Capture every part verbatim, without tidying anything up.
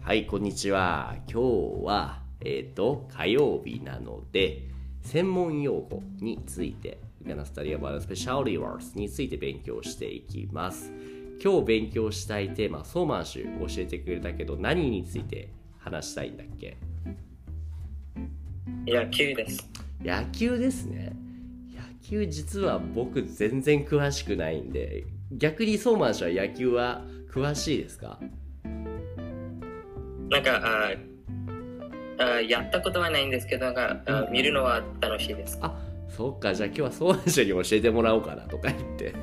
はい、こんにちは。今日は、えっ、と、火曜日なので、専門用語について、We're gonna study about specialty words について勉強していきます。今日勉強したいテーマ、ソーマンシュ教えてくれたけど、何について話したいんだっけ？ 野球です。 野球ですね。野球実は僕全然詳しくないんで、逆にソーマンシュは野球は詳しいですか？ なんかああやったことはないんですけど、なんかあ見るのは楽しいです。 あ、そっか。じゃあ今日はソーマンシュに教えてもらおうかなとか言ってで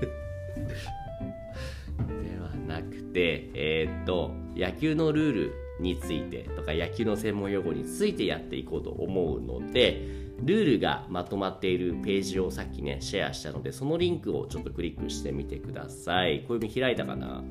はなくて、えー、っと野球のルールについてとか野球の専門用語についてやっていこうと思うので、ルールがまとまっているページをさっきねシェアしたので、そのリンクをちょっとクリックしてみてください。小指開いたかな？ はい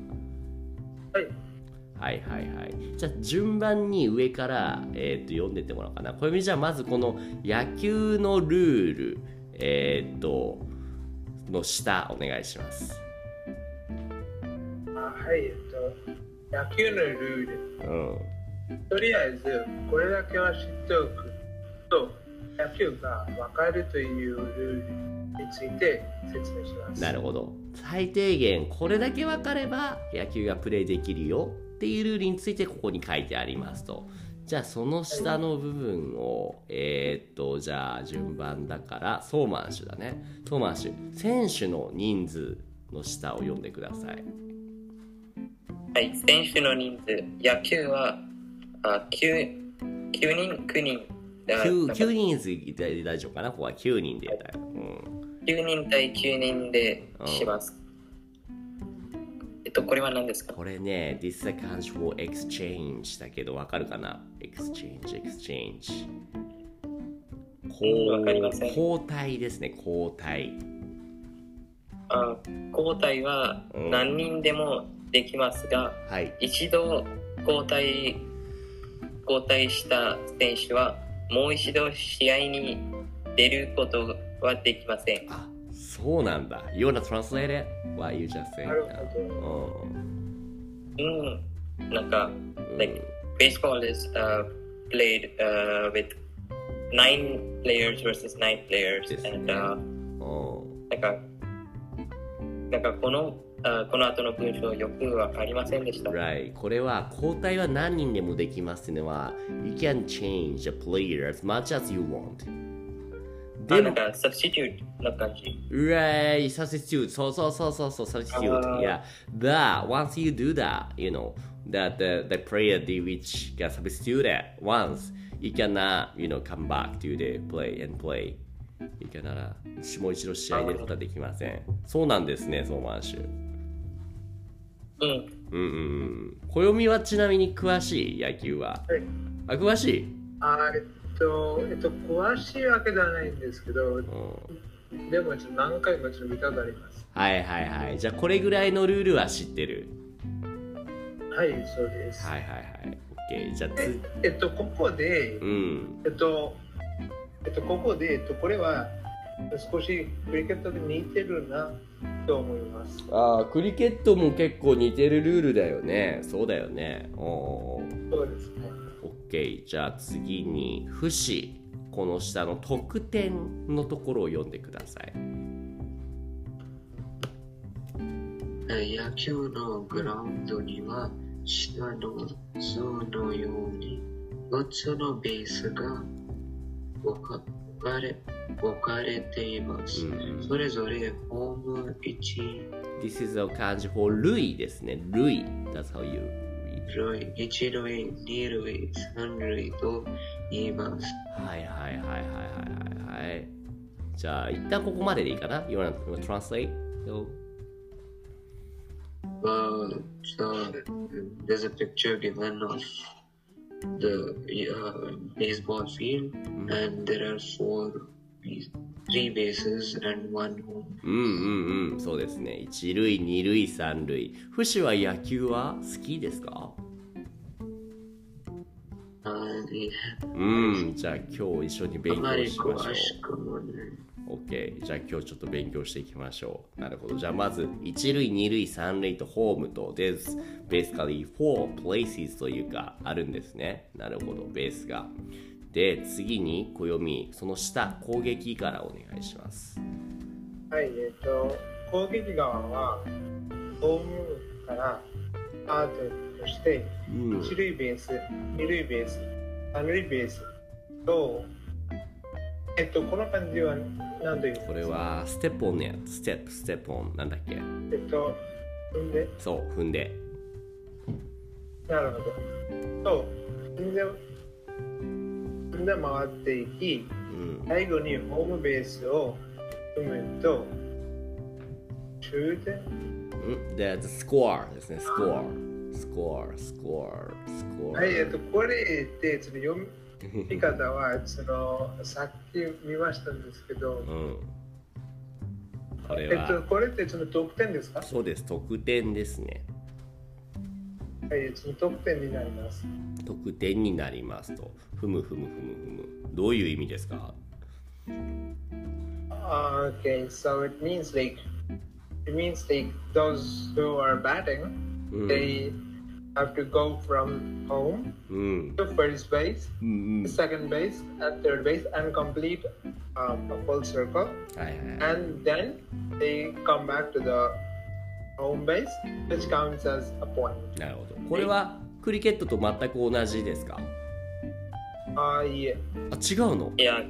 はいはいはい。じゃあ順番に上から、えー、と読んでってもらおうかな。小指、じゃあまずこの野球のルール、えっ、ー、との下お願いします。 あはい、えっと、野球のルール。 うん。 とりあえず、これだけは知っておくと、野球が分かるというルールについて説明します。 なるほど。最低限これだけ分かれば野球がプレイできるよっていうルールについてここに書いてありますと。じゃあその下の部分を、えー、っとじゃあ順番だからソーマンシュだね。ソーマンシュ、選手の人数の下を読んでください。 はい、選手の人数、野球はあ 9, きゅうにん、きゅうにん。 9, 9人で大丈夫かな。ここはきゅうにんで、はい、うん、 きゅうにん対きゅうにんでします。えっと、これは何ですか？ これね、This is a casual exchange だけど、わかるかな？ Exchange, exchange。 わかりません。 交代ですね、交代。 あ、交代は何人でもできますが、 うん、はい、 一度交代、交代した選手はもう一度試合に出ることはできません。 あ、そうなんだ。You wanna translate it? What you just said? なるほど。 うん。なんか、like baseball is、uh, played、uh, with nine players versus nine players、ね、and、uh, なんか、なんかこのUh, この後の文章よくわかりませんでした。 Right. これは交代は何人でもできますっていうのは You can change a player as much as you want. でもなんか substitute な感じ。 Right. Substitute. そうそうそうそうそう Substitute. Yeah. But once you do that, you know that the, the player which got substituted once, you cannot, you know, come back to the play and play. You cannot もう一度試合出ることはできません。そうなんですね、ソーマンシュ。 うん、 うんうん。暦はちなみに詳しい？野球は、はい、あ、詳しい？ あえっと、えっと、詳しいわけではないんですけど、うん、でもちょっと何回もちょっと見たことあります。 はいはいはい。じゃあこれぐらいのルールは知ってる？ はい、そうです。 はいはいはい。OK。じゃあつえっと、ここで、うん、えっと、えっと、ここで、えっと、これは少しクリケットで似てるなと思います。 ああ、クリケットも結構似てるルールだよね。そうだよね。おそうですね。 OK。じゃあ次に節、この下の得点のところを読んでください。 野球のグラウンドには下の図のようによっつのベースが置かれ置かれています。うん、それぞれホームいち。 This is a 漢字 for 塁ですね。塁。That's how you read. 塁、一塁、二塁、三塁と言います。 はいはいはいはいはいはい。じゃあ一旦ここまででいいかな？ You wanna translate? Uh, so there's a picture given of the uh, baseball field, mm-hmm. and there are four, three bases and one home. うんうんうん、そうですね。一塁、二塁、三塁。フシは野球は好きですか？ Uh, yeah. うん、じゃあ今日一緒に勉強しましょう。 あまり詳しくもね。 OK。じゃあ今日ちょっと勉強していきましょう。なるほど。じゃあまず、一塁、二塁、三塁とホームと、There's basically four places というか、あるんですね。なるほど、ベースが。で、次に暦、その下、攻撃からお願いします。 はい、えっと、攻撃側は、ホームからアートとして、うん、一塁ベース、二塁ベース、三塁ベースと、えっと、この感じは何というこれはステップオンね。ステップ、ステップオン。なんだっけえっと、踏んでそう、踏んで。 なるほど。そう、踏んで、踏んで回っていき、うん、最後にホームベースを踏むと、終点うんで、スコアですね、スコア。スコア、スコア、スコア。 はい、えっと、これってその読み見方はそのさっき見ましたんですけど、うん、 これは、 えっと、これってその得点ですか？ そうです、得点ですね。 はい、その得点になります。 得点になりますと。ふむふむふむふむ。どういう意味ですか？ Okay, so it means like it means like those who are batting, mm. they have to go from home mm. to first base, mm-hmm. second base, and third base, and complete um, a full circle. And then they come back to the home base, which counts as a point. なるほど。これはクリケットと全く同じですか？ あ、いいえ。 あ、違うの？ いや。 うん。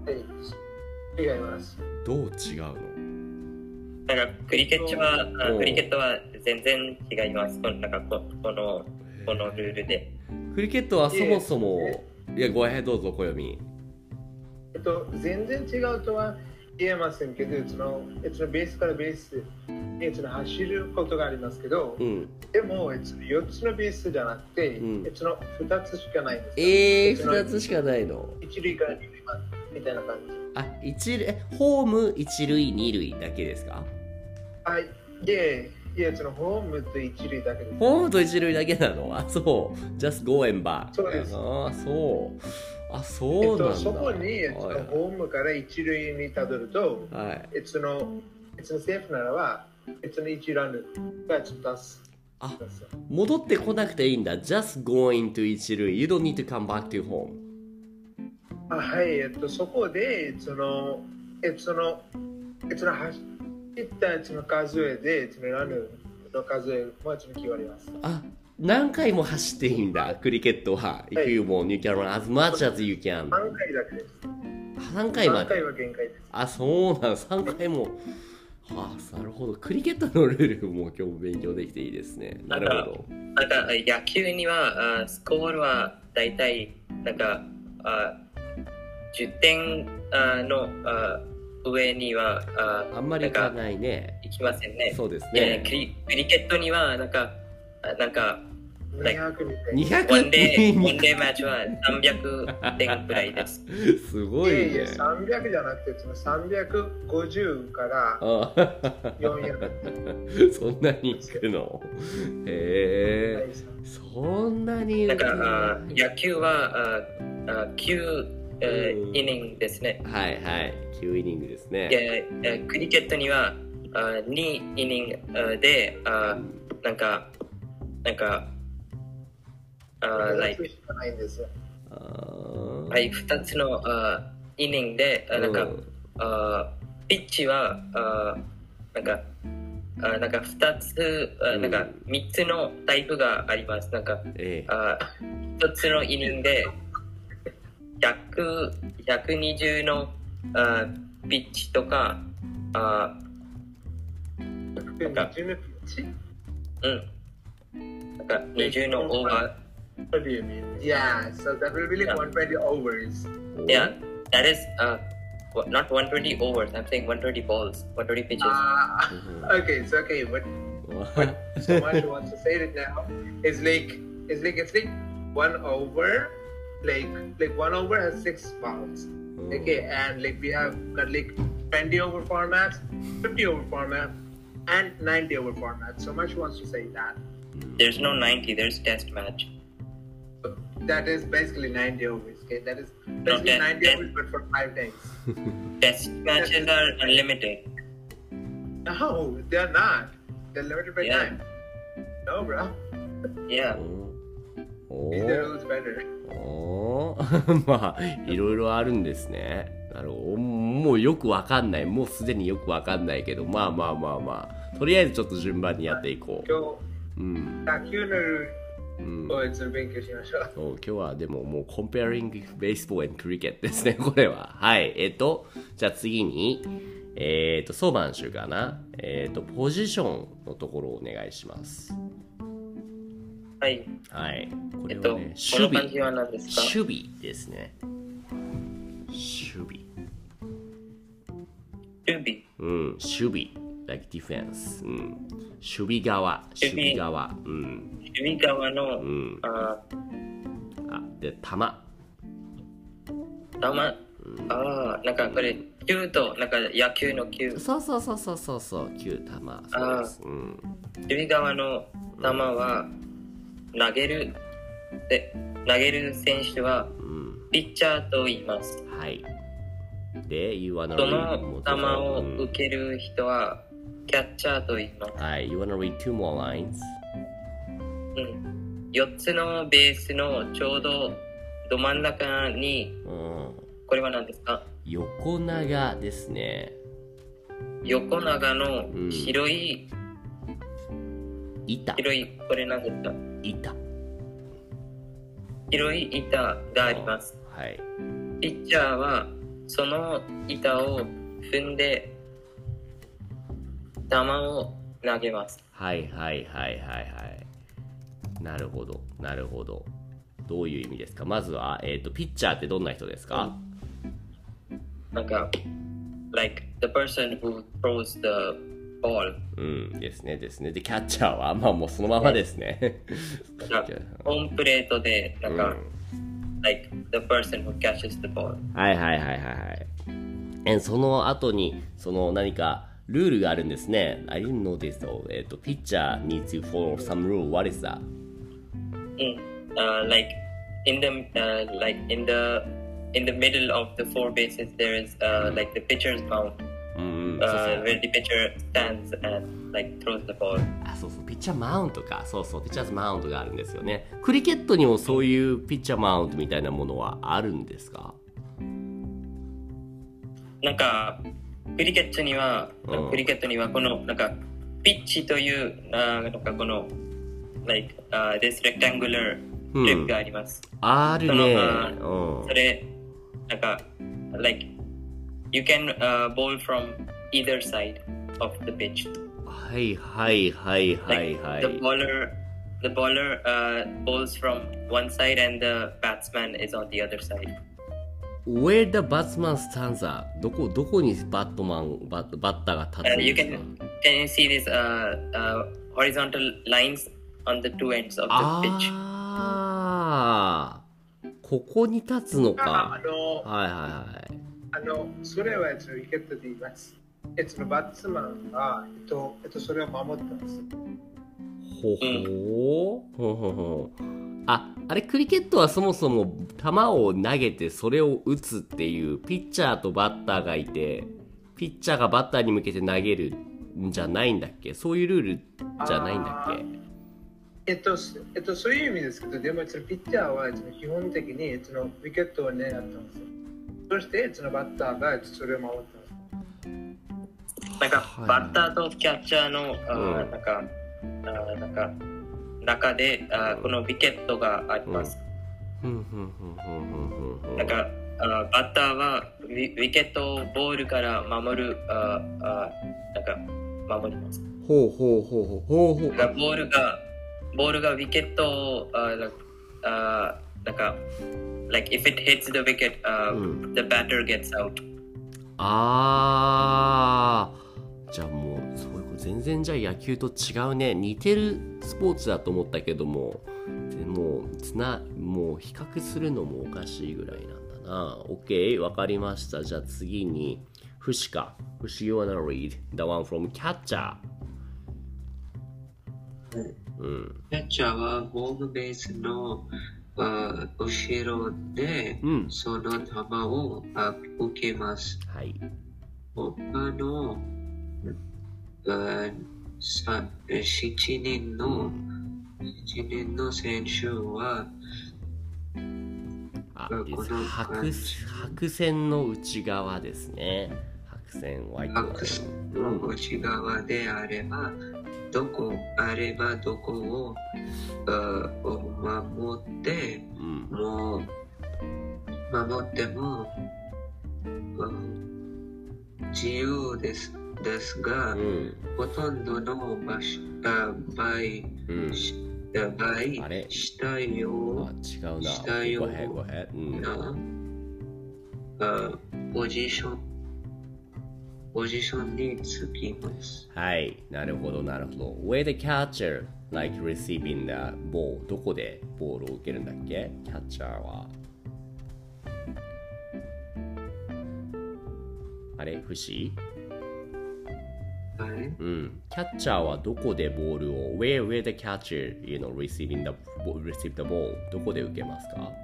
はい。違います。 どう違うの？ なんかクリケットはクリケットは全然違います。なんかこのこのルールで。 クリケットはそもそもいやごへんどうぞ小読み。 えっと全然違うとは言えませんけど、そのそのベースからベースにその走ることがありますけど、うん、でもよっつのベースじゃなくて、うん、そのふたつしかないんです。 ええー、ふたつしかないの？ 一塁から二塁までみたいな感じ。 あ、一塁ホーム一塁二塁だけですか？ はい、いえいえ、そのホームと一塁だけです。 ホームと一塁だけなの？あ、そう。just go and back。 そうです。 あ、そう。あ、そうなんだ。えっと、 そこに、そのホームから一塁にたどると、はい。その、そのセーフならば、その一ランがちょっと出す。 あ、戻ってこなくていいんだ。just going to 一塁。You don't need to come back to home。 あ、はい、えっと、そこで、その、えっと、その、えっと、その、走ったその数えで、そのランの数えもちろん決まります。 あ、何回も走っていいんだ、クリケットは。If you want, you can run as much as you can。 さんかいだけです。 さんかいまで。 さんかいは限界です。 あ、そうなん、さんかいも。はあ、なるほど。クリケットのルールも今日勉強できていいですね。なるほど。 なんか野球にはスコアはだいたいなんかあじゅってんのあ上には あ, あんまりいかないね。 いきませんね。 そうですね。 クリ、クリケットにはなんかなんかにひゃくにひゃくワンデーワンデーマッチはさんびゃくてんくらいです。 すごいね。いやいやさんびゃくじゃなくてさんびゃくごじゅうからよんひゃく。 そんなにいくの？へえ。そんなに。 なんか野球はあきゅうイニングですね。 はいはい。きゅうイニングですね。 でクリケットにはにイニングであなんかなんかあ、like はい、ふたつのあイニングであなんか、うん、あピッチはあなんかあなんかふたつあなんかみっつのタイプがあります。なんか、ええ、あひとつのイニングでひゃく、ひゃくにじゅうのあピッチとかあなんかうんなんかにじゅうのオーバー。 What do you mean? Yeah, so that will be like one hundred twenty overs. Yeah, that is uh, not one hundred twenty overs. I'm saying one hundred twenty balls, one hundred twenty pitches. Ah, uh, okay, it's okay, but, but so much wants to say it now. It's like it's like it's like one over, like like one over has six balls. Okay, and like we have got like twenty over formats, fifty over format, and ninety over format. So much wants to say that. There's no ninety. There's test match. That is basically ninety overs. Okay, that is No, basically test- ninety test- overs, but for five days. Test matches are unlimited. No, they're not. They're limited by Yeah. time. No, bro. Yeah. お These ー are rules better. おーまあいろいろあるんですね。なるほど。もうよくわかんない。もうすでによくわかんないけど、まあまあまあまあ。とりあえずちょっと順番にやっていこ今う。うん。 日、野球のルうんールを一応勉強しましょう。 そう今日はでももう comparing baseball and cricket ですね、これは。はい。えっと、じゃあ次に、えっと、ソーマンシュかな。えっと、ポジションのところをお願いします。 はい。 はい。こえっと、 れはね、 この漢字は何ですか？ 守備ですね。守備。 守備。 うん、守備。like defense。うん。守備側。守備側。うん。 守備側の、 うん。 ああ、で、球。 ー、球、ああ、なんかこれ、球と、なんか野球の球。 そうそうそうそうそうそう。球、球。そうです。うん。 守備側の球は、投げる、で、投げる選手は、 うん。 ピッチャーと言います。 はい。で、You wanna そ read の球をうん受ける人は、キャッチャーと言います。 はい。You wanna read two more lines? うん。よっつのベースのちょうどど真ん中に、 うん。 これは何ですか？ 横長ですね。 横長のうん白い、 板。 白い、これ何ですか？ 板。 白い板があります。 はい。 ピッチャーはその板を踏んで球を投げます。 はいはいはいはいはい。なるほど、なるほど。どういう意味ですか？まずは、えっと、ピッチャーってどんな人ですか？ なんか、like the person who throws the ball。 うんですねですね。で、キャッチャーは、まあもうそのままですね。 なんかホームプレートで、なんか、like the person who catches the ball。 はいはいはいはいはい。えその後に、その何かルールがあるんですね。I didn't know this though. えっと、ピッチャー needs to follow some rule. What is that? うん。Uh, like in the uh, like in the in the middle of the four bases there is uh, like the pitcher's mound うんうん、そうそう uh, where the pitcher stands and like throws the ball。 あ、そうそう、ピッチャーマウントか。そうそう、ピッチャーズマウントがあるんですよね。クリケットにもそういうピッチャーマウントみたいなものはあるんですか？ なんかクリケットには、 うんクリケットにはこのなんかピッチというあーなんかこの like、uh, this rectangular うん strip があります。 あるね。 そうんそれなんか like you can、uh, bowl from either side of the pitch。 はいはいはいはいは Like い。 the bowler, the bowler uh, bowls from one side and the batsman is on the other side. Where the batsman stands at? どこどこにバットマンバッバッターが立つ Uh, ん you ですか？ can can you see these uh, uh, horizontal lines on the two ends of the pitch? ああ、ここに立つのあか。 の、 はいはいはい。 あの、それはえっと、ウィケットで言います。えっと、バッツマンが、えっと、えっと、それを守ってます。 ほほー、ほほほあ、あれクリケットはそもそも球を投げてそれを打つっていうピッチャーとバッターがいてピッチャーがバッターに向けて投げるんじゃないんだっけ？そういうルールじゃないんだっけ？ えっと、えっと、そういう意味ですけど、でも、えっと、ピッチャーは、えっと、基本的に、えっと、ウィケットを狙ってます。そして、えっと、バッターが、えっと、それを守ってます。 なんかはいバッターとキャッチャーの、あうんーなんかあーなんか中であーこのウィケットがあります。 ふんふんふんふんふんふんふんなんかあーバッターはウィウィケットをボールから守るあーあーなんか守ります。 ほうほうほうほうほうほうなんかボールがボールがウィケットをあーなんかあーなんか like if it hits the wicket、uh, うん the batter gets out。 あーじゃあもうそういうこと全然じゃあ野球と違うね。似てるスポーツだと思ったけどもでもつなもう比較するのもおかしいぐらいなんだな。 OK わかりました。じゃあ次にフシかフシ you wanna read the one from catcher。 うんキャッチャーはホームベースのあ後ろでその球を、あ受けます。 はい。 他のあさしちにんの、しちにんの選手はあこの白白線の内側ですね。白線ワイトライン。 白線の内側であれば、どこあればどこを、を守って、うん、もう守っても、うん、自由です。ですが、うん、ほとんどの場所場合、うん、場合したよしたようなポジションポジションにつきます。 はい、なるほどなるほど。Where the catcher like receiving the ball どこでボールを受けるんだっけ？キャッチャーはあれ不思はい、 うん、キャッチャーはどこでボールを where, where the catcher you know receiving the receive the ball どこで受けますか？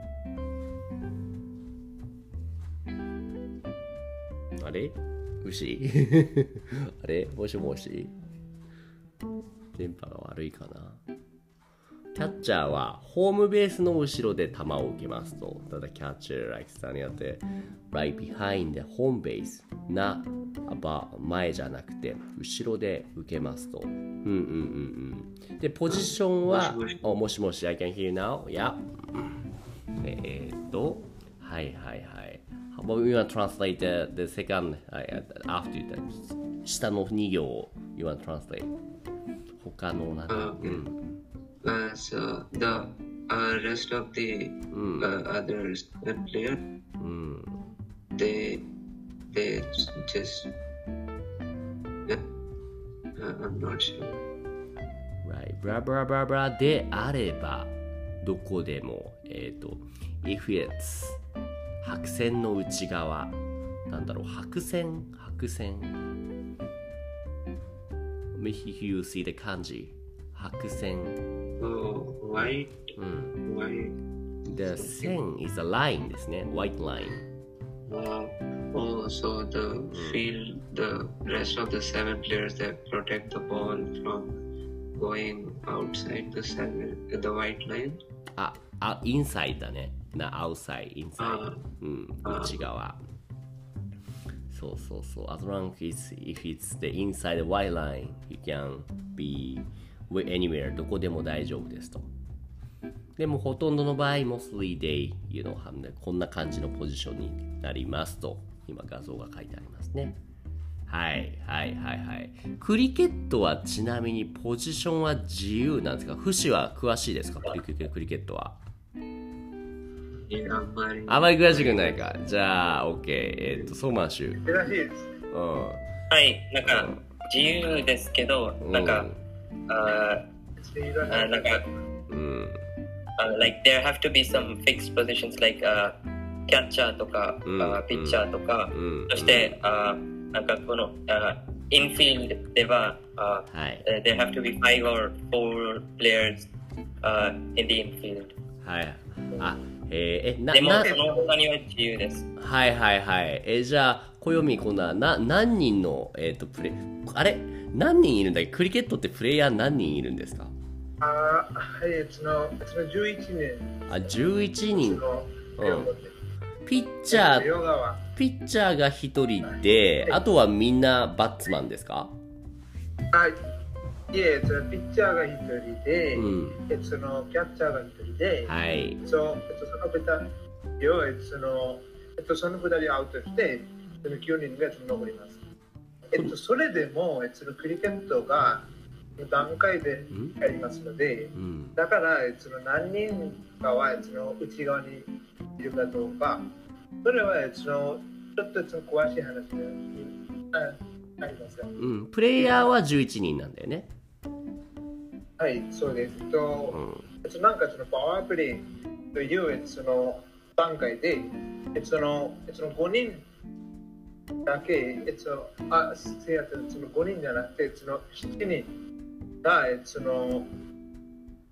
あれ牛あれもしもし電波が悪いかな。キャッチャーはホームベースの後ろで球を受けますと。ただキャッチャー like standing at the right behind the home base な前じゃなくて後ろで受けますと。うんうんうんうん。でポジションはもしもし、oh, もしもし I can hear you now yeah えー、っとはいはいはい。How about we want to translate the, the second after that 下のに行を you want to translate 他のなんか、uh, okay. うん Uh, so the uh, rest of the mm. uh, others players, mm. they they just uh, I'm not sure. Right, blah blah blah blah であればどこでもえっと if it's 白線の内側なんだろう白線白線 If you see the 漢字白線 Oh, white. Mm. White. The 線 is a line ですね。White line. Wow. Oh, so the field, the rest of the seven players that protect the ball from going outside the seven, the white line. あ、あ、inside だね。な、outside, inside. うん、内側。そうそうそう。As long as if it's the inside the white line, you can be anywhere どこでも大丈夫ですと。でもほとんどの場合 mostly they you know こんな感じのポジションになりますと今画像が書いてありますね。はいはいはいはい。クリケットはちなみにポジションは自由なんですか？フシは詳しいですか？クリケット、クリケットは。 あんまりあまり詳しくないか。じゃあ OK えっ、ー、とソーマンシュ。 詳しいです。 うん。 はい、なんか、うん、自由ですけどなんか、うんUh, uh, like, uh, mm. uh, like there have to be some fixed positions like uh, catcher とか、mm. uh, pitcher とか、mm. そして、uh, なんかこの、uh, infield では、uh, uh, there have to be five or four players、uh, in the infield はいあえー、えなでもその他には自由ですはいはいはいえー、じゃあ暦今度はな何人の、えー、とプレあれ何人いるんだっけ？クリケットってプレイヤー何人いるんですか？ あはい、そのじゅういちにん。 あ、じゅういちにん。うん。ピッチャー、ピッチャーがひとりで、はい、あとはみんなバッツマンですか？ はい。いえ、そのピッチャーがひとりで、うん、えそのキャッチャーがひとりで、 はい。 そう、えっと、そのふたりを、えっと、その、えっと、そのふたりアウトして、そのきゅうにんが残ります。えっと、それでも、えっと、クリケットが段階でやりますので、うん、だから、えっと、何人かは、えっと、内側にいるかどうか、それは、えっと、ちょっと詳しい話がありますが、 うん、プレイヤーはじゅういちにんなんだよね。 はい、そうです。えっと、うん、えっと、なんかそのパワープレイという、えっと、その段階で、えっと、その、えっと、ごにんだけ、えっと、あ、せやとそのごにんじゃなくて、そのしちにんが、えっと、その、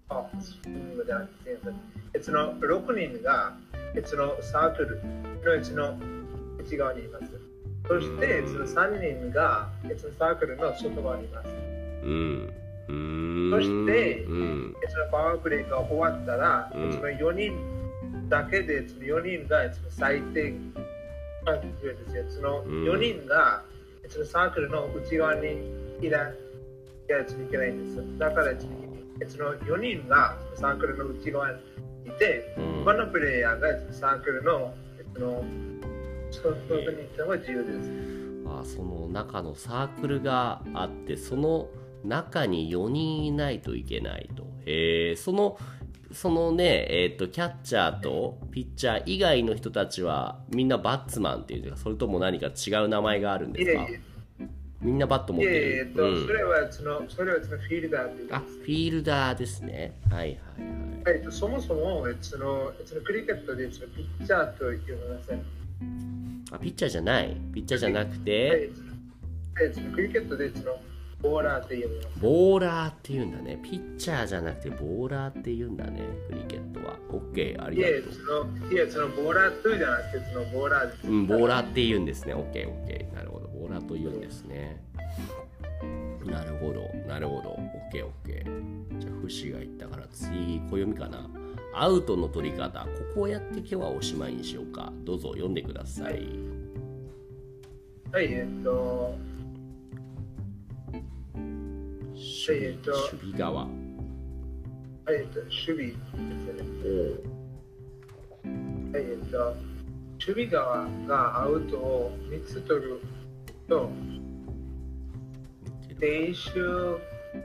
あ、スイングじゃなくて、えそのろくにんがえそのサークルのえその内側にいます。そしてそのさんにんがえそのサークルの外側にいます。 うん。うーんそして、 うん、 そのパワープレイが終わったら、うん、そのよにんだけでそのよにんがその最低そのよにんがそのサークルの内側にいないやつにいけないんです。だからそのよにんがサークルの内側にいて、うん、他のプレイヤーがサークルのその外に行ったのが自由です。 あ、その中のサークルがあって、その中によにんいないといけないと。へえ、そのそのね、えっとキャッチャーとピッチャー以外の人たちはみんなバッツマンっていうか、それとも何か違う名前があるんですか？いえいえ、みんなバット持ってる。 えーと、うん、それはそのそれはそのフィールダーっていう。 あ、フィールダーですね。はいはいはい。 はい、そもそもそのそのクリケットでそのピッチャーと呼びません。 あ、ピッチャーじゃない。ピッチャーじゃなくて、 はいはい、そのクリケットでそのボーラーって言うんだ。 ボーラーって言うんだね。ピッチャーじゃなくてボーラーって言うんだね。クリケットは。オッケー、ありがとう。 いや、その、いや、そのボーラーとじゃなくて、そのボーラーです。 うん、ボーラーって言うんですね。オッケー、オッケー。なるほど。ボーラーと言うんですね。なるほど、なるほど。オッケー、オッケー。じゃあ、フシが言ったから次、小読みかな。アウトの取り方。ここをやって今日はおしまいにしようか。どうぞ読んでください。 はい、えっと、 守備、守備側。 はい、えっと、守備ですね。はい、えっと、守備側がアウトをみっつ取ると、練習、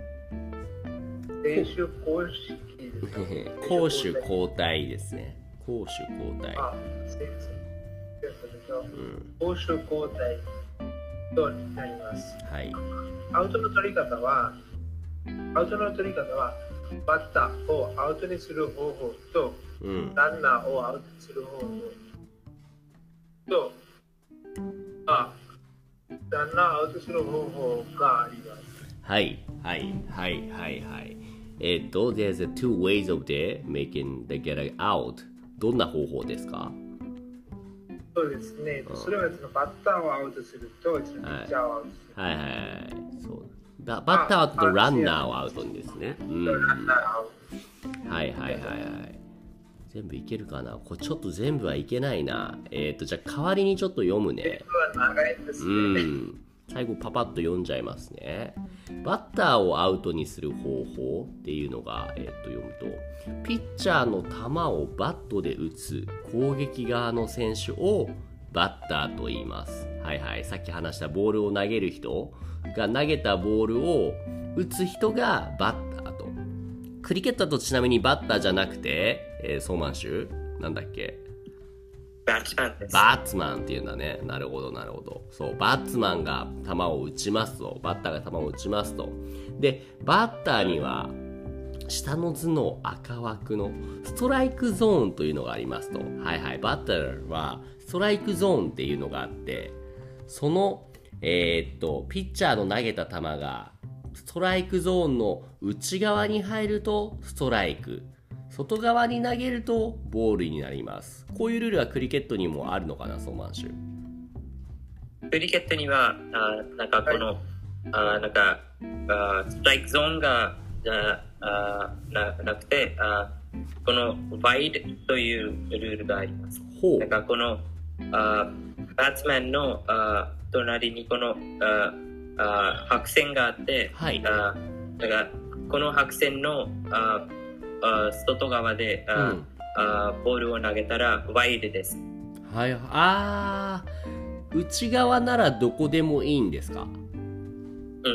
練習公式ですね。 攻守交代ですね。攻守交代。 あ、そうですね。攻守交代となります。 はい。 アウトの取り方は、アウトの取り方は、バッターをアウトにする方法と、うん、ランナーをアウトにする方法と、あ、ランナーアウトする方法があります。 はい、はい、はい、はい、はい。えっと、there's a two ways of the making the get out. どんな方法ですか？ そうですね。それはそのバッターをアウトすると、ピッチャーをアウトする。 はいはいはい。そうババッターアウトとランナーをアウトにですね。うん、はいはいはいはい。全部いけるかな？これちょっと全部はいけないな。えっと、じゃあ代わりにちょっと読むね。 全部は長いですね。うん。 最後パパッと読んじゃいますね。バッターをアウトにする方法っていうのが、えー、と読むと、ピッチャーの球をバットで打つ攻撃側の選手をバッターと言います。はいはい。さっき話したボールを投げる人が投げたボールを打つ人がバッターと。クリケットだとちなみにバッターじゃなくて、えー、ソーマンシュなんだっけ？ バッツマンです。 バッツマンっていうんだね。なるほどなるほど。そう、バッツマンが球を打ちますと、バッターが球を打ちますと。で、バッターには下の図の赤枠のストライクゾーンというのがありますと。はいはい。バッターはストライクゾーンっていうのがあって、そのえー、っとピッチャーの投げた球がストライクゾーンの内側に入るとストライク。外側に投げるとボールになります。こういうルールはクリケットにもあるのかな、ソーマンシュ。 クリケットには、あなんかこの、はい、あなんかあストライクゾーンがあななくてあ、このワイドというルールがあります。 ほう。 なんかこのあバッツマンのあ隣にこのああ白線があって、はい、あだからこの白線のああ外側であ、うん、あボールを投げたらワイドです。 はい、あー、内側ならどこでもいいんですか？うん。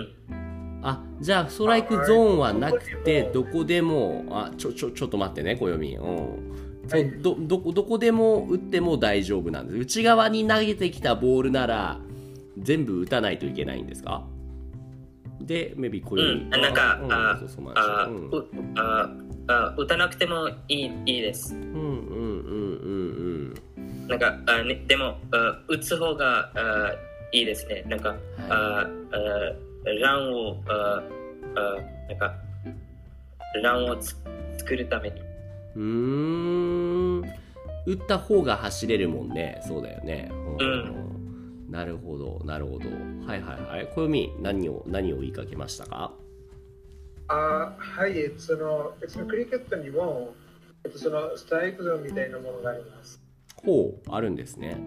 あ、じゃあストライクゾーンはなくてどこでも、あ、ちょちょちょっと待ってね、暦。うん。そう、どどどこでも打っても大丈夫なんです。内側に投げてきたボールなら全部打たないといけないんですか？で、maybe 暦。うん、 なんか、あ、あ、あ、あ、打たなくてもいい、いいです。 うんうんうんうんうん。なんか、あ、ね、でも、あ、打つ方があいいですね。なんか、はい、あ、あ、ランを、あ、あ、なんか、ランをつ作るために。 うーん。打った方が走れるもんね。そうだよね。 うん。 なるほど、なるほど。はいはいはい。暦、何を、何を言いかけましたか？ あはい、その、そのクリケットにも、そのストライクゾーンみたいなものがあります。 ほう、あるんですね。うん、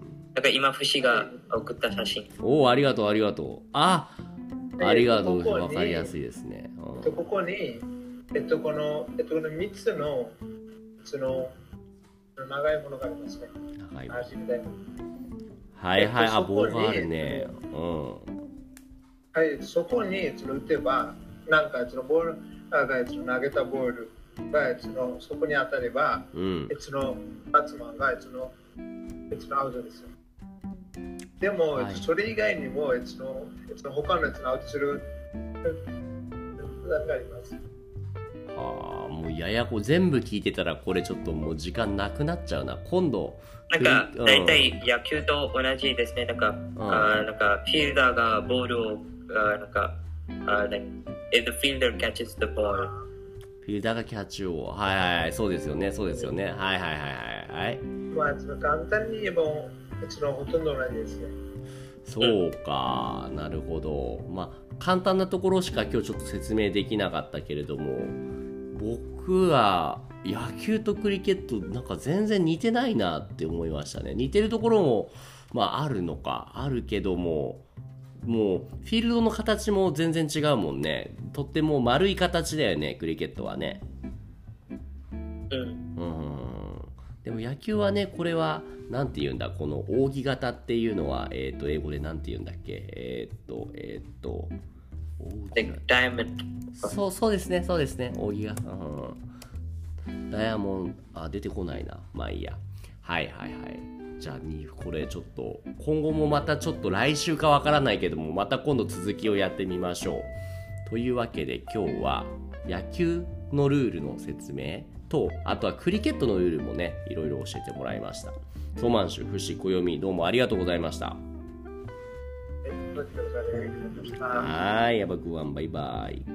だから今、節が送った写真。 おお、ありがとう、ありがとう。あ、ありがとう。わかりやすいですね。 うん、ここに、えっと、この、えっと、このみっつの、その、長いものがありますね。長いもの。 はいはい、あ、棒があるね。うん。 はい、そこにその打てば、なんかそのボールがその投げたボールがそのそこに当たれば、うん、そのバッツマンがそのそのアウトですよ。でも、はい、それ以外にもそのその他のやつのアウトする何があります。 はあ、もうややこ全部聞いてたらこれちょっともう時間なくなっちゃうな。今度なんか大体野球と同じですね。なんか、うん、あなんかフィールダーがボールをあなんかあ like if the fielder catches the ball フィールダーがキャッチをはいはいはいそうですよねそうですよねはいはいはいはいはい。 まあその簡単に言えばそのほとんど同じですね。 そうか、うん、なるほど。まあ簡単なところしか今日ちょっと説明できなかったけれども、僕は野球とクリケットなんか全然似てないなって思いましたね。似てるところもまああるのかあるけども、もうフィールドの形も全然違うもんね。とっても丸い形だよね、クリケットはね。 うん。 うん。でも野球はね、これはなんて言うんだ、この扇形っていうのはえっと英語でなんて言うんだっけ、えっとえっとダイヤモンド。 そうそうですね、そうですね、扇が。うん。ダイヤモンド、あ、出てこないな。まあいいや。はいはいはい。じゃあにこれちょっと今後もまたちょっと来週かわからないけどもまた今度続きをやってみましょう。というわけで今日は野球のルールの説明とあとはクリケットのルールもねいろいろ教えてもらいました。ソマンシュ、フシ、コヨミどうもありがとうございました。はい、やばくわんバイバイ。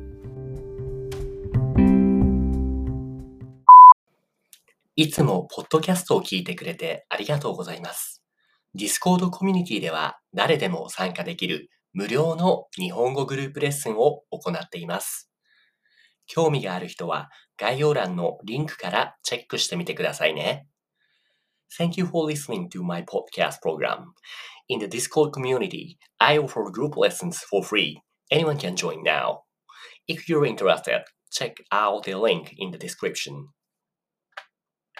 いつもポッドキャストを聞いてくれてありがとうございます。Discord コミュニティでは誰でも参加できる無料の日本語グループレッスンを行っています。興味がある人は概要欄のリンクからチェックしてみてくださいね。Thank you for listening to my podcast program. In the Discord community, I offer group lessons for free. Anyone can join now. If you're interested, check out the link in the description.